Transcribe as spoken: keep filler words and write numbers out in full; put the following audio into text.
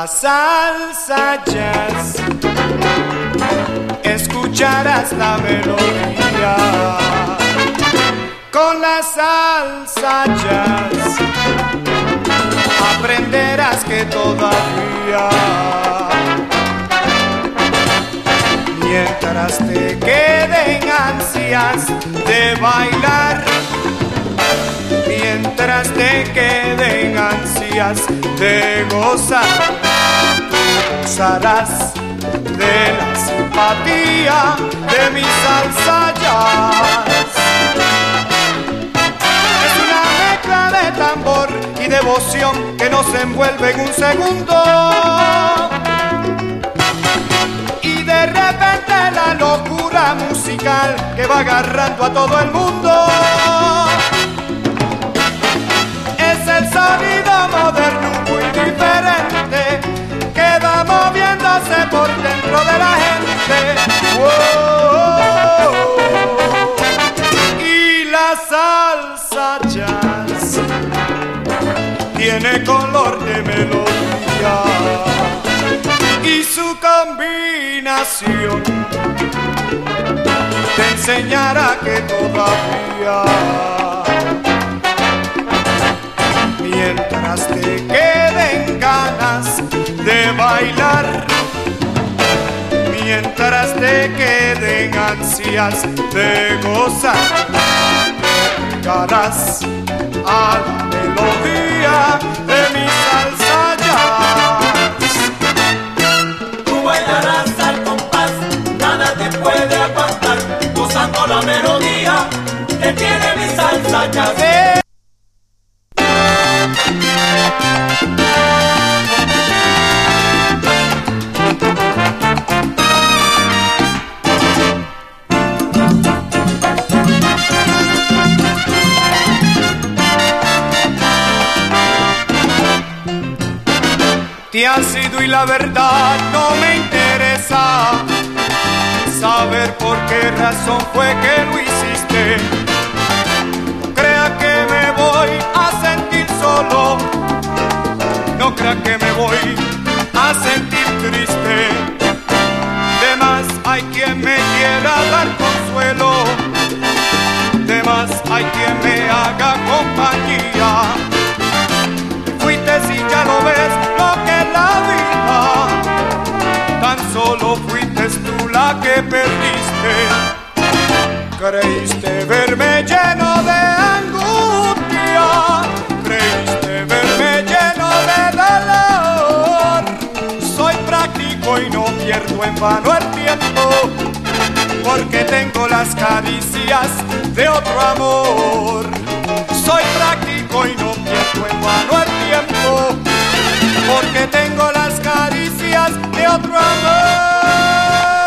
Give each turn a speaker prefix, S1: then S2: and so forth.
S1: la salsa jazz, escucharás la melodía. Con la salsa jazz aprenderás que todavía, mientras te queden ansias de bailar, mientras te queden ansias de gozar, tú gozarás de la simpatía de mi salsa jazz. Es una mezcla de tambor y devoción que nos envuelve en un segundo, y de repente la locura musical que va agarrando a todo el mundo. Es el sonido moderno muy diferente que va moviéndose por dentro de la gente. ¡Wow! Y la salsa jazz tiene color de melodía, y su combinación te enseñará que todavía, mientras te queden ganas de bailar, mientras te queden ansias de gozar, llegarás a la melodía de mi salsa jazz.
S2: Tú bailarás al compás, nada te puede aguantar, gozando la melodía que tiene mi salsa jazz.
S1: Eh. Te has ido y la verdad no me interesa saber por qué razón fue que lo hiciste. No crea que me voy a sentir solo, no crea que me voy a sentir triste. De más hay quien me quiera dar consuelo, de más hay quien me haga compañía. Fuiste y ya lo ves lo que es la vida, tan solo fuiste tú la que perdiste. Creíste verme lleno de angustia, creíste verme lleno de dolor. Soy práctico y no pierdo en vano el tiempo, porque tengo las caricias de otro amor. Soy práctico y no pierdo en vano el tiempo, porque tengo las caricias de otro amor.